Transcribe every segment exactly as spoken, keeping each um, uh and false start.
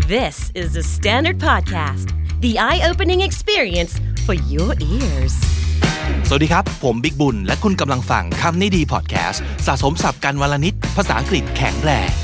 This is the Standard Podcast, the eye-opening experience for your ears. สวัสดีครับผมบิ๊กบุญและคุณกำลังฟังคำนี้ดีพอดแคสต์สะสมศัพท์กันวลนิดภาษาอังกฤษแข็งแรง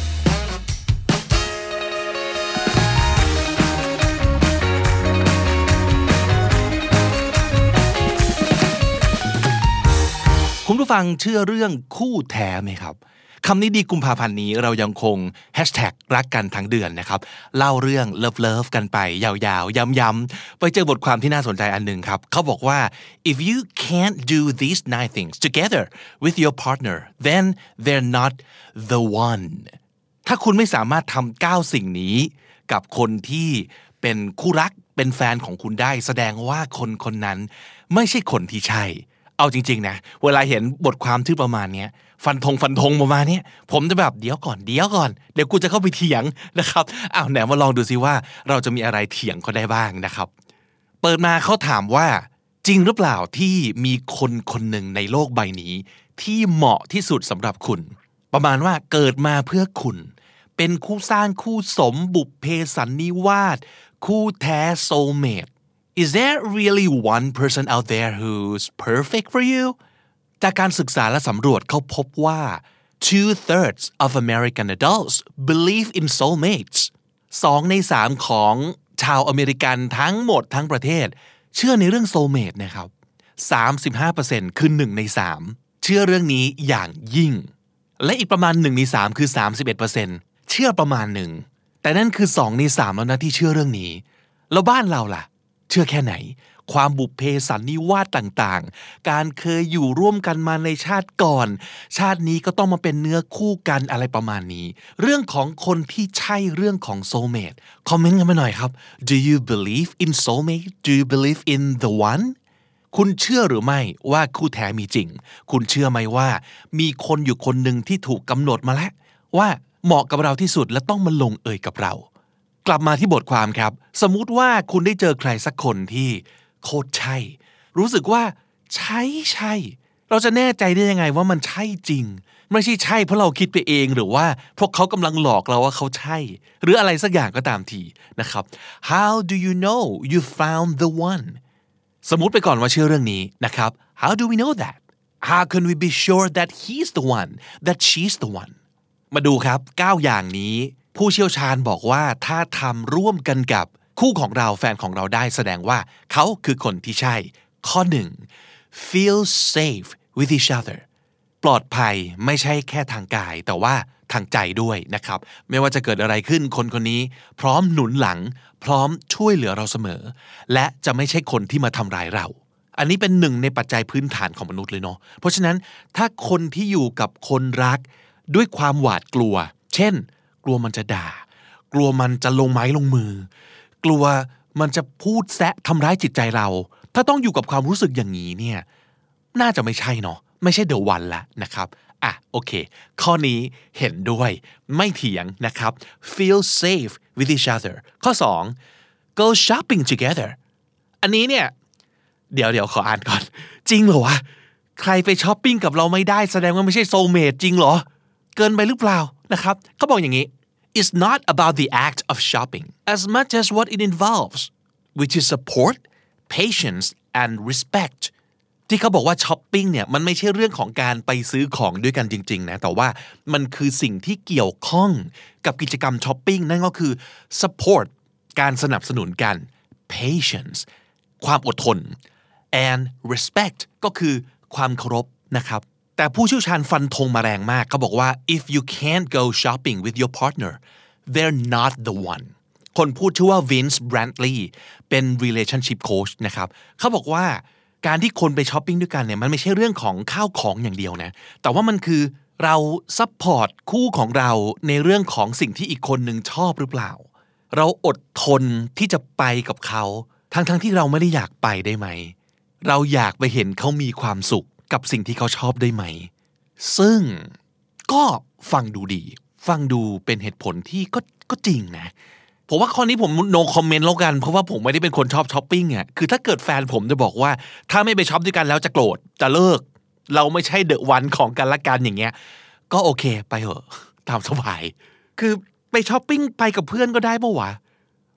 คุณผู้ฟังเชื่อเรื่องคู่แท้ไหมครับคำนี้ดีกุมภาพันธ์นี้เรายังคงแฮชแท็กรักกันทั้งเดือนนะครับเล่าเรื่องเลิฟเลิฟกันไปยาวๆย้ำๆไปเจอบทความที่น่าสนใจอันหนึ่งครับเขาบอกว่า if you can't do these nine things together with your partner then they're not the one ถ้าคุณไม่สามารถทำเก้าสิ่งนี้กับคนที่เป็นคู่รักเป็นแฟนของคุณได้แสดงว่าคนคนนั้นไม่ใช่คนที่ใช่เอาจริงๆนะเวลาเห็นบทความที่ประมาณนี้ฟันธงฟันธงประมาณนี้ผมจะแบบเดี๋ยวก่อนเดี๋ยวก่อนเดี๋ยวกูจะเข้าไปเถียงนะครับอ้าวไหนมาลองดูซิว่าเราจะมีอะไรเถียงเขาได้บ้างนะครับเปิดมาเขาถามว่าจริงหรือเปล่าที่มีคนคนหนึ่งในโลกใบนี้ที่เหมาะที่สุดสำหรับคุณประมาณว่าเกิดมาเพื่อคุณเป็นคู่สร้างคู่สมบุพเพสันนิวาสคู่แท้ soulmate Is there really one person out there who's perfect for you? จากการศึกษาและสำรวจเขาพบว่า two-thirds of American adults believe in soulmates สองในสามของชาวอเมริกันทั้งหมดทั้งประเทศเชื่อในเรื่อง soulmate นะครับ สามสิบห้าเปอร์เซ็นต์ คือหนึ่งในสามเชื่อเรื่องนี้อย่างยิ่งและอีกประมาณหนึ่งในสามคือ สามสิบเอ็ดเปอร์เซ็นต์ เชื่อประมาณหนึ่งแต่นั่นคือสองในสามแล้วนะที่เชื่อเรื่องนี้แล้วบ้านเราล่ะเชื่อแค่ไหนความบุพเพสันนิวาสต่างๆการเคยอยู่ร่วมกันมาในชาติก่อนชาตินี้ก็ต้องมาเป็นเนื้อคู่กันอะไรประมาณนี้เรื่องของคนที่ใช่เรื่องของ soulmate คอมเมนต์กันมาหน่อยครับ Do you believe in soulmate? Do you believe in the one? คุณเชื่อหรือไม่ว่าคู่แท้มีจริงคุณเชื่อไหมว่ามีคนอยู่คนหนึ่งที่ถูกกำหนดมาแล้วว่าเหมาะกับเราที่สุดและต้องมาลงเอยกับเรากลับมาที่บทความครับสมมุติว่าคุณได้เจอใครสักคนที่โคตรใช่รู้สึกว่าใช่ใช่เราจะแน่ใจได้ยังไงว่ามันใช่จริงไม่ใช่ใช่เพราะเราคิดไปเองหรือว่าพวกเขากำลังหลอกเราว่าเขาใช่หรืออะไรสักอย่างก็ตามทีนะครับ How do you know you found the one สมมุติไปก่อนว่าเชื่อเรื่องนี้นะครับ How do we know that How can we be sure that he's the one that she's the one มาดูครับเก้าอย่างนี้ผู้เชี่ยวชาญบอกว่าถ้าทำร่วมกันกับคู่ของเราแฟนของเราได้แสดงว่าเขาคือคนที่ใช่ข้อหนึ่ง feel safe with each other ปลอดภัยไม่ใช่แค่ทางกายแต่ว่าทางใจด้วยนะครับไม่ว่าจะเกิดอะไรขึ้นคนคนนี้พร้อมหนุนหลังพร้อมช่วยเหลือเราเสมอและจะไม่ใช่คนที่มาทำร้ายเราอันนี้เป็นหนึ่งในปัจจัยพื้นฐานของมนุษย์เลยเนาะเพราะฉะนั้นถ้าคนที่อยู่กับคนรักด้วยความหวาดกลัวเช่นกลัวมันจะด่ากลัวมันจะลงไม้ลงมือกลัวมันจะพูดแซะทำร้ายจิตใจเราถ้าต้องอยู่กับความรู้สึกอย่างนี้เนี่ยน่าจะไม่ใช่เนาะไม่ใช่ the one ละนะครับอ่ะโอเคข้อนี้เห็นด้วยไม่เถียงนะครับ feel safe with each other ข้อสอง go shopping together อันนี้เนี่ยเดี๋ยวเดี๋ยวขออ่านก่อนจริงเหรอวะใครไปช้อปปิ้งกับเราไม่ได้แสดงว่าไม่ใช่ soulmate จริงเหรอเกินไปหรือเปล่านะครับเขาบอกอย่างนี้ It's not about the act of shopping as much as what it involves which is support patience and respect ที่เขาบอกว่าช้อปปิ้งเนี่ยมันไม่ใช่เรื่องของการไปซื้อของด้วยกันจริงๆนะแต่ว่ามันคือสิ่งที่เกี่ยวข้องกับกิจกรรมช้อปปิ้งนั่นก็คือ support การสนับสนุนกัน patience ความอดทน and respect ก็คือความเคารพนะครับแต่ผู้เชี่ยวชาญฟันธงมาแรงมากเขาบอกว่า if you can't go shopping with your partner they're not the one คนพูดชื่อว่า Vince Brantley เป็น relationship coach นะครับเขาบอกว่าการที่คนไปช้อปปิ้งด้วยกันเนี่ยมันไม่ใช่เรื่องของข้าวของอย่างเดียวนะแต่ว่ามันคือเราซัพพอร์ตคู่ของเราในเรื่องของสิ่งที่อีกคนหนึ่งชอบหรือเปล่าเราอดทนที่จะไปกับเขาทั้งๆที่เราไม่ได้อยากไปได้ไหมเราอยากไปเห็นเขามีความสุขกับสิ่งที่เขาชอบได้ไหมซึ่งก็ฟังดูดีฟังดูเป็นเหตุผลที่ก็ก็จริงนะผมว่าข้อนี้ผม no comment แล้วกันเพราะว่าผมไม่ได้เป็นคนชอบช้อปปิ้งอ่ะคือถ้าเกิดแฟนผมจะบอกว่าถ้าไม่ไปช้อปด้วยกันแล้วจะโกรธจะเลิกเราไม่ใช่เดอะวันของกันละกันอย่างเงี้ยก็โอเคไปเถอะตามสบายคือไปช้อปปิ้งไปกับเพื่อนก็ได้ปะวะ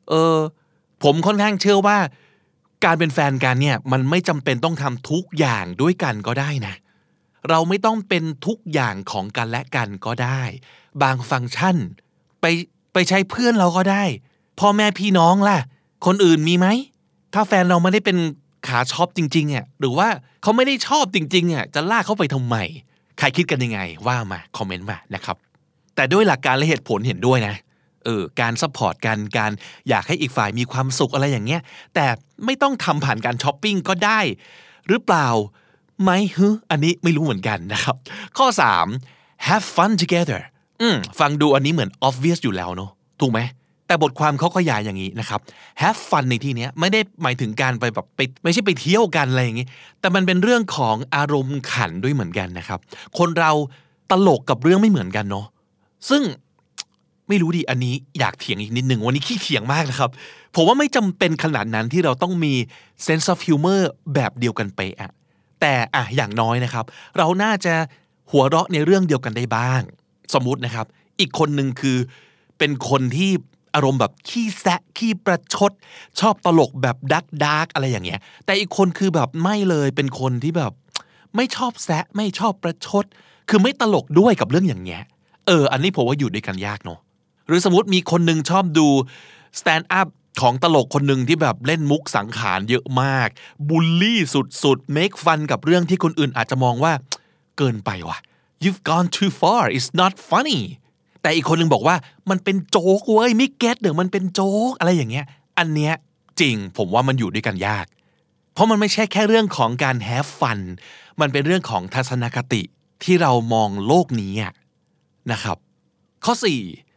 เออผมค่อนข้างเชื่อว่าการเป็นแฟนกันเนี่ยมันไม่จำเป็นต้องทำทุกอย่างด้วยกันก็ได้นะเราไม่ต้องเป็นทุกอย่างของกันและกันก็ได้บางฟังก์ชันไปไปใช้เพื่อนเราก็ได้พ่อแม่พี่น้องล่ะคนอื่นมีไหมถ้าแฟนเราไม่ได้เป็นขาชอบจริงๆอ่ะหรือว่าเขาไม่ได้ชอบจริงๆอ่ะจะลากเขาไปทำไมใครคิดกันยังไงว่ามาคอมเมนต์มานะครับแต่ด้วยหลักการและเหตุผลเห็นด้วยนะเออการซัพพอร์ตกันการอยากให้อีกฝ่ายมีความสุขอะไรอย่างเงี้ยแต่ไม่ต้องทำผ่านการช้อปปิ้งก็ได้หรือเปล่าไหมฮึอันนี้ไม่รู้เหมือนกันนะครับข้อสาม have fun together อืมฟังดูอันนี้เหมือน obvious อยู่แล้วเนอะถูกไหมแต่บทความเขาขยายอย่างนี้นะครับ have fun ในที่นี้ไม่ได้หมายถึงการไปแบบไปไม่ใช่ไปเที่ยวกันอะไรอย่างนี้แต่มันเป็นเรื่องของอารมณ์ขันด้วยเหมือนกันนะครับคนเราตลกกับเรื่องไม่เหมือนกันเนาะซึ่งไม่รู้ดิอันนี้อยากเถียงอีกนิดนึงวันนี้ขี้เถียงมากนะครับผมว่าไม่จำเป็นขนาดนั้นที่เราต้องมี sense of humor แบบเดียวกันไปอะแต่อะอย่างน้อยนะครับเราน่าจะหัวเราะในเรื่องเดียวกันได้บ้างสมมุตินะครับอีกคนนึงคือเป็นคนที่อารมณ์แบบขี้แซะขี้ประชดชอบตลกแบบดักดักอะไรอย่างเงี้ยแต่อีกคนคือแบบไม่เลยเป็นคนที่แบบไม่ชอบแซะไม่ชอบประชดคือไม่ตลกด้วยกับเรื่องอย่างเงี้ยเอออันนี้ผมว่าอยู่ด้วยกันยากเนาะหรือสมมติมีคนนึงชอบดู stand up ของตลกคนนึงที่แบบเล่นมุกสังขารเยอะมากบูลลี่สุดๆ make fun กับเรื่องที่คนอื่นอาจจะมองว่าเกินไปว่ะ you've gone too far it's not funnyแต่อีกคนนึงบอกว่ามันเป็นโจ๊กเว้ยไม่เก็ตเดี๋ยวมันเป็นโจ๊กอะไรอย่างเงี้ยอันเนี้ยจริงผมว่ามันอยู่ด้วยกันยากเพราะมันไม่ใช่แค่เรื่องของการ have fun มันเป็นเรื่องของทัศนคติที่เรามองโลกนี้นะครับข้อสี่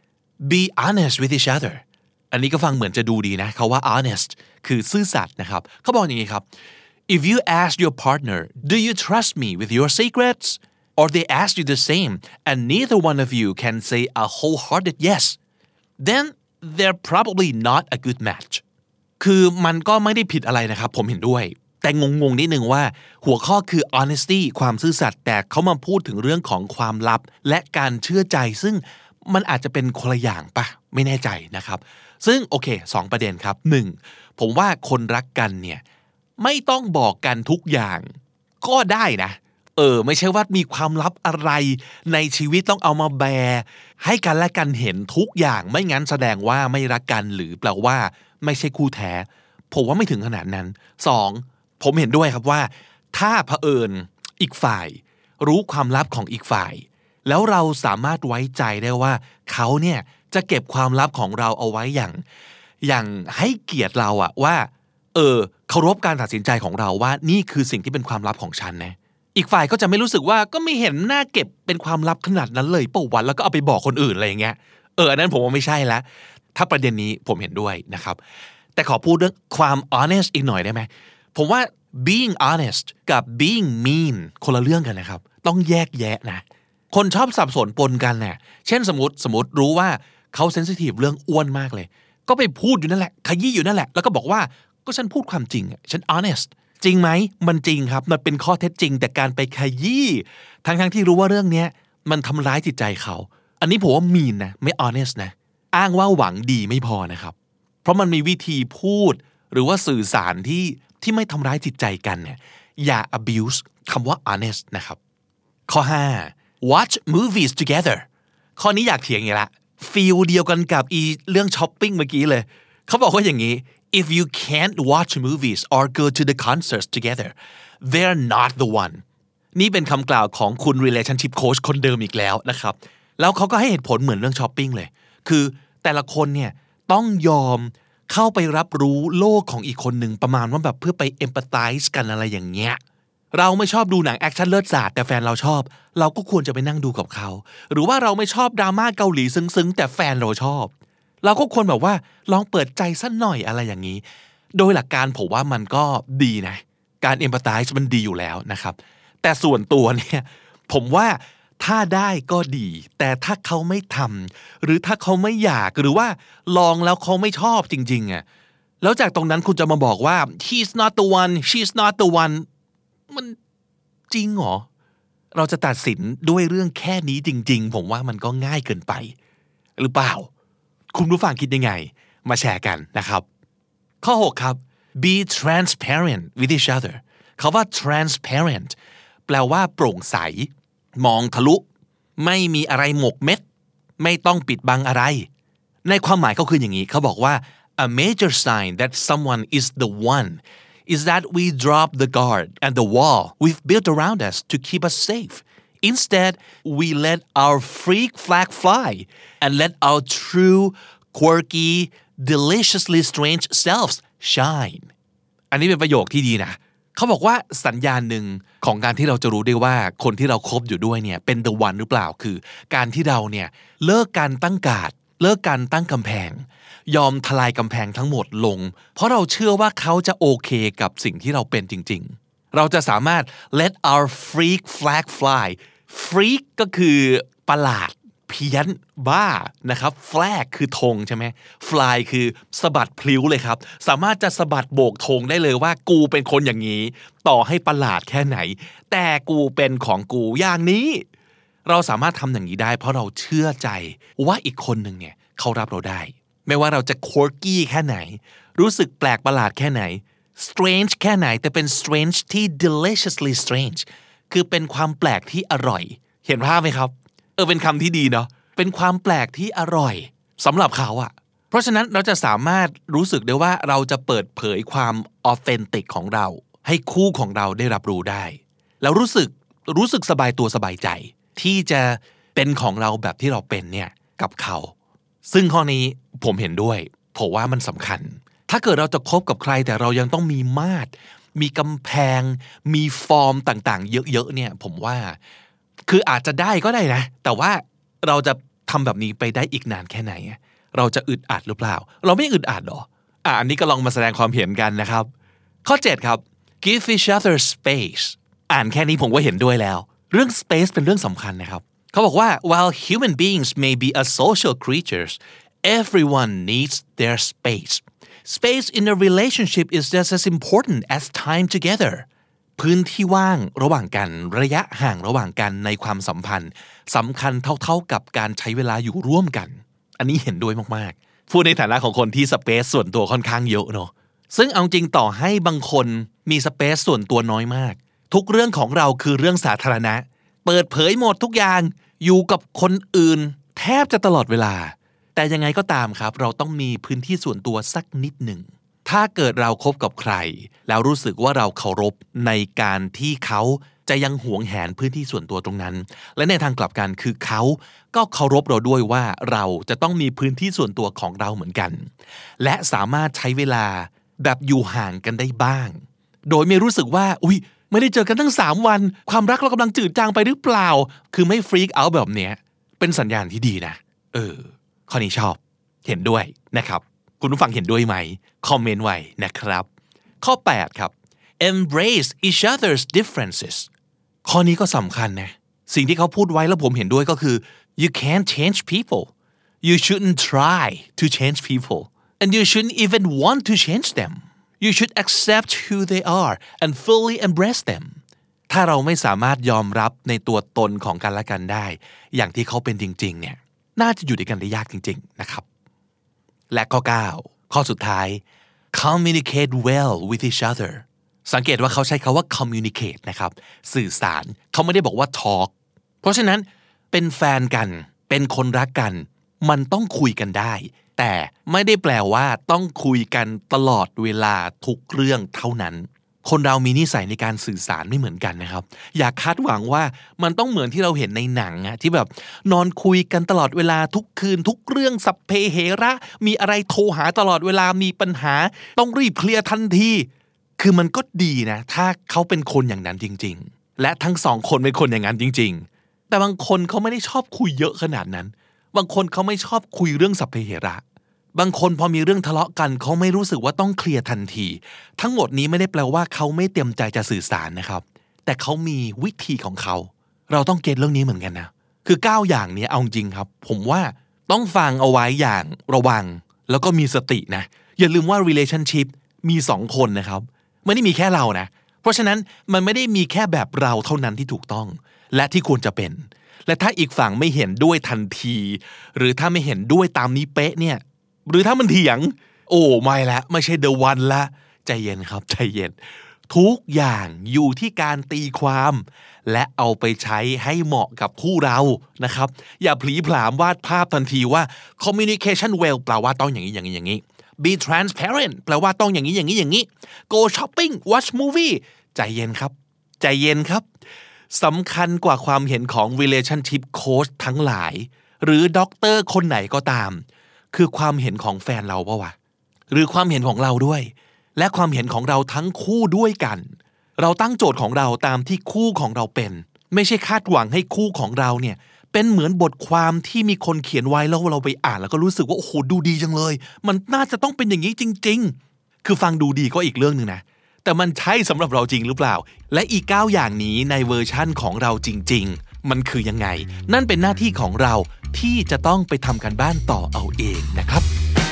be honest with each other อันนี้ก็ฟังเหมือนจะดูดีนะเขาว่า honest คือซื่อสัตย์นะครับเขาบอกอย่างนี้ครับ if you ask your partner do you trust me with your secrets or they ask you the same and neither one of you can say a wholehearted yes then they're probably not a good match คือมันก็ไม่ได้ผิดอะไรนะครับผมเห็นด้วยแต่งงๆนิดนึงว่าหัวข้อคือ honesty ความซื่อสัตย์แต่เขามาพูดถึงเรื่องของความลับและการเชื่อใจซึ่งมันอาจจะเป็นคนละอย่างปะไม่แน่ใจนะครับซึ่งโอเคสองประเด็นครับหนึ่งผมว่าคนรักกันเนี่ยไม่ต้องบอกกันทุกอย่างก็ได้นะเออไม่ใช่ว่ามีความลับอะไรในชีวิตต้องเอามาแบร์ให้กันและกันเห็นทุกอย่างไม่งั้นแสดงว่าไม่รักกันหรือแปลว่าไม่ใช่คู่แท้ผมว่าไม่ถึงขนาดนั้นสองผมเห็นด้วยครับว่าถ้าเผอิญอีกฝ่ายรู้ความลับของอีกฝ่ายแล้วเราสามารถไว้ใจได้ว่าเขาเนี่ยจะเก็บความลับของเราเอาไว้อย่างอย่างให้เกียรติเราอะว่าเออเคารพการตัดสินใจของเราว่านี่คือสิ่งที่เป็นความลับของฉันนะอีกฝ่ายก็จะไม่รู้สึกว่าก็ไม่เห็นน่าเก็บเป็นความลับขนาดนั้นเลยเปล่าวันแล้วก็เอาไปบอกคนอื่นอะไรอย่างเงี้ยเอออันนั้นผมว่าไม่ใช่ละถ้าประเด็นนี้ผมเห็นด้วยนะครับแต่ขอพูดเรื่องความ honest อีกหน่อยได้ไหมผมว่า being honest กับ being mean คนละเรื่องกันนะครับต้องแยกแยะนะคนชอบสับสนปนกันน่ะเช่นสมมติสมมติรู้ว่าเขาเซนซิทีฟเรื่องอ้วนมากเลยก็ไปพูดอยู่นั่นแหละขยี้อยู่นั่นแหละแล้วก็บอกว่าก็ฉันพูดความจริงอ่ะฉัน honest จริงไหมมันจริงครับมันเป็นข้อเท็จจริงแต่การไปขยี้ทั้งๆที่รู้ว่าเรื่องนี้มันทำร้ายจิตใจเขาอันนี้ผมว่า mean นะไม่ honest นะอ้างว่าหวังดีไม่พอนะครับเพราะมันมีวิธีพูดหรือว่าสื่อสารที่ที่ไม่ทำร้ายจิตใจกันเนี่ยอย่า abuse คำว่า honest นะครับข้อห้า watch movies together ข้อนี้อยากเถียงอย่างละฟีลเดียวกันกับอีเรื่องช้อปปิ้งเมื่อกี้เลยเขาบอกว่าอย่างนี้ if you can't watch movies or go to the concerts together they're not the one นี่เป็นคำกล่าวของคุณ relationship coach คนเดิมอีกแล้วนะครับแล้วเขาก็ให้เหตุผลเหมือนเรื่องช้อปปิ้งเลยคือแต่ละคนเนี่ยต้องยอมเข้าไปรับรู้โลกของอีกคนหนึ่งประมาณว่าแบบเพื่อไป empathize กันอะไรอย่างเงี้ยเราไม่ชอบดูหนังแอคชั่นเลิศศาสตร์แต่แฟนเราชอบเราก็ควรจะไปนั่งดูกับเขาหรือว่าเราไม่ชอบดราม่าเกาหลีซึ้งๆแต่แฟนเราชอบเราก็ควรแบบว่าลองเปิดใจสักหน่อยอะไรอย่างนี้โดยหลักการผมว่ามันก็ดีนะการ empathize มันดีอยู่แล้วนะครับแต่ส่วนตัวเนี่ยผมว่าถ้าได้ก็ดีแต่ถ้าเขาไม่ทำหรือถ้าเขาไม่อยากหรือว่าลองแล้วเขาไม่ชอบจริงๆอ่ะแล้วจากตรงนั้นคุณจะมาบอกว่า he's not the one she's not the one มันจริงเหรอเราจะตัดสินด้วยเรื่องแค่นี้จริงๆผมว่ามันก็ง่ายเกินไปหรือเปล่าคุณผู้ฟังคิดยังไงมาแชร์กันนะครับข้อหกครับ be transparent with each other คำว่า transparent แปลว่าโปร่งใสมองทะลุไม่มีอะไรหมกเม็ดไม่ต้องปิดบังอะไรในความหมายเขาคืออย่างนี้เขาบอกว่า a major sign that someone is the one is that we drop the guard and the wall we've built around us to keep us safe instead we let our freak flag fly and let our true quirky deliciously strange selves shine อันนี้เป็นประโยคที่ดีนะเขาบอกว่าสัญญาณหนึ่งของการที่เราจะรู้ได้ว่าคนที่เราคบอยู่ด้วยเนี่ยเป็น the one หรือเปล่าคือการที่เราเนี่ยเลิกการตั้งการ์ดเลิกการตั้งกำแพงยอมทลายกำแพงทั้งหมดลงเพราะเราเชื่อว่าเขาจะโอเคกับสิ่งที่เราเป็นจริงๆเราจะสามารถ let our freak flag fly freak ก็คือประหลาดเพี้ยนบ้านะครับ flag คือธงใช่ไหม fly คือสะบัดพลิ้วเลยครับสามารถจะสะบัดโบกธงได้เลยว่ากูเป็นคนอย่างนี้ต่อให้ประหลาดแค่ไหนแต่กูเป็นของกูอย่างนี้เราสามารถทำอย่างนี้ได้เพราะเราเชื่อใจว่าอีกคนหนึ่งเนี่ยเขารับเราได้ไม่ว่าเราจะ quirky แค่ไหนรู้สึกแปลกประหลาดแค่ไหน strange แค่ไหนแต่เป็น strange ที่ deliciously strange คือเป็นความแปลกที่อร่อยเห็นภาพไหมครับเออเป็นคำที่ดีเนาะเป็นความแปลกที่อร่อยสำหรับเขาอะเพราะฉะนั้นเราจะสามารถรู้สึกได้ว่าเราจะเปิดเผยความออเทนติกของเราให้คู่ของเราได้รับรู้ได้แล้วรู้สึกรู้สึกสบายตัวสบายใจที่จะเป็นของเราแบบที่เราเป็นเนี่ยกับเขาซึ่งข้อนี้ผมเห็นด้วยผมว่ามันสำคัญถ้าเกิดเราจะคบกับใครแต่เรายังต้องมีมาตรมีกำแพงมีฟอร์มต่างๆเยอะๆเนี่ยผมว่าคืออาจจะได้ก็ได้นะแต่ว่าเราจะทำแบบนี้ไปได้อีกนานแค่ไหนเราจะอึดอัดหรือเปล่าเราไม่อึดอัดหรออ่ะอันนี้ก็ลองมาแสดงความเห็นกันนะครับข้อเจ็ดครับ give each other space อ่านแค่นี้ผมก็เห็นด้วยแล้วเรื่อง space เป็นเรื่องสำคัญนะครับเขาบอกว่า while human beings may be a social creatures everyone needs their space space in a relationship is just as important as time togetherพื้นที่ว่างระหว่างกันระยะห่างระหว่างกันในความสัมพันธ์สำคัญเท่าๆกับการใช้เวลาอยู่ร่วมกันอันนี้เห็นด้วยมากๆพูดในฐานะของคนที่สเปซส่วนตัวค่อนข้างเยอะเนาะซึ่งเอาจริงต่อให้บางคนมีสเปซส่วนตัวน้อยมากทุกเรื่องของเราคือเรื่องสาธารณะเปิดเผยหมดทุกอย่างอยู่กับคนอื่นแทบจะตลอดเวลาแต่ยังไงก็ตามครับเราต้องมีพื้นที่ส่วนตัวสักนิดหนึ่งถ้าเกิดเราคบกับใครแล้วรู้สึกว่าเราเคารพในการที่เขาจะยังหวงแหนพื้นที่ส่วนตัวตรงนั้นและในทางกลับกันคือเขาก็เคารพเราด้วยว่าเราจะต้องมีพื้นที่ส่วนตัวของเราเหมือนกันและสามารถใช้เวลาแบบอยู่ห่างกันได้บ้างโดยไม่รู้สึกว่าอุ๊ยไม่ได้เจอกันตั้งสามวันความรักเรากำลังจืดจางไปหรือเปล่าคือไม่ฟรีกเอาท์แบบเนี้ยเป็นสัญญาณที่ดีนะเออข้อนี้ชอบเห็นด้วยนะครับคุณผู้ฟังเห็นด้วยไหมคอมเมนต์ไว้นะครับข้อแปดครับ embrace each other's differences ข้อนี้ก็สำคัญนะสิ่งที่เขาพูดไว้แล้วผมเห็นด้วยก็คือ you can't change people you shouldn't try to change people and you shouldn't even want to change them you should accept who they are and fully embrace them ถ้าเราไม่สามารถยอมรับในตัวตนของกันและกันได้อย่างที่เขาเป็นจริงๆเนี่ยน่าจะอยู่ด้วยกันได้ยากจริงๆนะครับและข้อเก้าข้อสุดท้าย communicate well with each other สังเกตว่าเขาใช้คำว่า communicate นะครับสื่อสารเขาไม่ได้บอกว่า talk เพราะฉะนั้นเป็นแฟนกันเป็นคนรักกันมันต้องคุยกันได้แต่ไม่ได้แปลว่าต้องคุยกันตลอดเวลาทุกเรื่องเท่านั้นคนเรามีนิสัยในการสื่อสารไม่เหมือนกันนะครับอย่าคาดหวังว่ามันต้องเหมือนที่เราเห็นในหนังอะที่แบบนอนคุยกันตลอดเวลาทุกคืนทุกเรื่องสัพเพเหระมีอะไรโทรหาตลอดเวลามีปัญหาต้องรีบเคลียร์ทันทีคือมันก็ดีนะถ้าเขาเป็นคนอย่างนั้นจริงๆและทั้งสองคนเป็นคนอย่างนั้นจริงๆแต่บางคนเขาไม่ได้ชอบคุยเยอะขนาดนั้นบางคนเขาไม่ชอบคุยเรื่องสัพเพเหระบางคนพอมีเรื่องทะเลาะกันเขาไม่รู้สึกว่าต้องเคลียร์ทันทีทั้งหมดนี้ไม่ได้แปลว่าเขาไม่เต็มใจจะสื่อสารนะครับแต่เขามีวิธีของเขาเราต้องเก็ทเรื่องนี้เหมือนกันนะคือเก้าอย่างนี้เอาจริงครับผมว่าต้องฟังเอาไว้อย่างระวังแล้วก็มีสตินะอย่าลืมว่า relationship มีสองคนนะครับไม่ได้มีแค่เรานะเพราะฉะนั้นมันไม่ได้มีแค่แบบเราเท่านั้นที่ถูกต้องและที่ควรจะเป็นและถ้าอีกฝั่งไม่เห็นด้วยทันทีหรือถ้าไม่เห็นด้วยตามนี้เป๊ะเนี่ยหรือถ้ามันเถียงโอ้ไม่ละไม่ใช่ the one ละใจเย็นครับใจเย็นทุกอย่างอยู่ที่การตีความและเอาไปใช้ให้เหมาะกับคู่เรานะครับอย่าผลีผลามวาดภาพทันทีว่า communication well แปลว่าต้องอย่างนี้อย่างนี้อย่างนี้ be transparent แปลว่าต้องอย่างนี้อย่างนี้อย่างนี้ go shopping watch movie ใจเย็นครับใจเย็นครับสำคัญกว่าความเห็นของ relationship coach ทั้งหลายหรือด็อกเตอร์คนไหนก็ตามคือความเห็นของแฟนเราปะวะหรือความเห็นของเราด้วยและความเห็นของเราทั้งคู่ด้วยกันเราตั้งโจทย์ของเราตามที่คู่ของเราเป็นไม่ใช่คาดหวังให้คู่ของเราเนี่ยเป็นเหมือนบทความที่มีคนเขียนไว้แล้วเราไปอ่านแล้วก็รู้สึกว่าโอ้โหดูดีจังเลยมันน่าจะต้องเป็นอย่างนี้จริงๆคือฟังดูดีก็อีกเรื่องนึงนะแต่มันใช่สำหรับเราจริงหรือเปล่าและอีกเก้าอย่างนี้ในเวอร์ชั่นของเราจริงๆมันคือยังไงนั่นเป็นหน้าที่ของเราที่จะต้องไปทำการบ้านต่อเอาเองนะครับ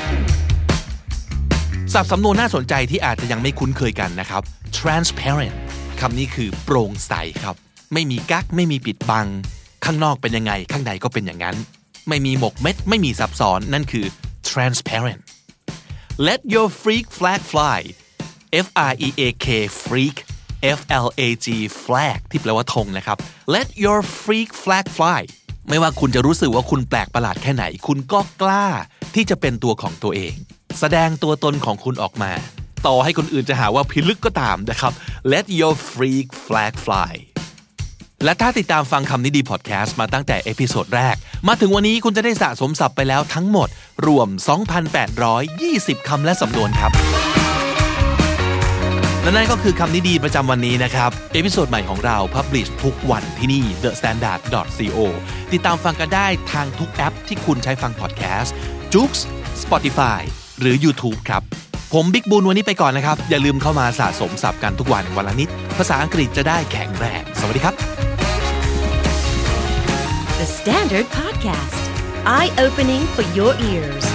ศัพท์สำนวนน่าสนใจที่อาจจะยังไม่คุ้นเคยกันนะครับ transparent คำนี้คือโปร่งใสครับไม่มีกั๊กไม่มีปิดบังข้างนอกเป็นยังไงข้างในก็เป็นอย่างนั้นไม่มีหมกเม็ดไม่มีซับซ้อนนั่นคือ transparent let your freak flag fly F R E A K freak F L A G flag ที่แปลว่าธงนะครับ let your freak flag fly ไม่ว่าคุณจะรู้สึกว่าคุณแปลกประหลาดแค่ไหนคุณก็กล้าที่จะเป็นตัวของตัวเองแสดงตัวตนของคุณออกมาต่อให้คนอื่นจะหาว่าพิลึกก็ตามนะครับ let your freak flag fly และถ้าติดตามฟังคำนี้ดีพอดแคสต์มาตั้งแต่เอพิโซดแรกมาถึงวันนี้คุณจะได้สะสมศัพท์ไปแล้วทั้งหมดรวม สองพันแปดร้อยยี่สิบ คำและสำนวนครับและนั่นก็คือคำนี้ดีประจำวันนี้นะครับเอพิโซดใหม่ของเรา publish ทุกวันที่นี่ เดอะสแตนดาร์ด ดอท ซี โอ ติดตามฟังกันได้ทางทุกแอปที่คุณใช้ฟังพอดแคสต์ Joox Spotify หรือ YouTube ครับผมบิ๊กบุญวันนี้ไปก่อนนะครับอย่าลืมเข้ามาสะสมศัพท์กันทุกวันวันละนิดภาษาอังกฤษจะได้แข็งแรงสวัสดีครับ The Standard Podcast Eye Opening for Your Ears